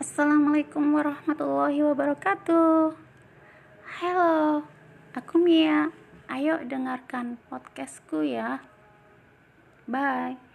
Assalamualaikum warahmatullahi wabarakatuh. Halo, aku Mia. Ayo dengarkan podcastku ya. Bye.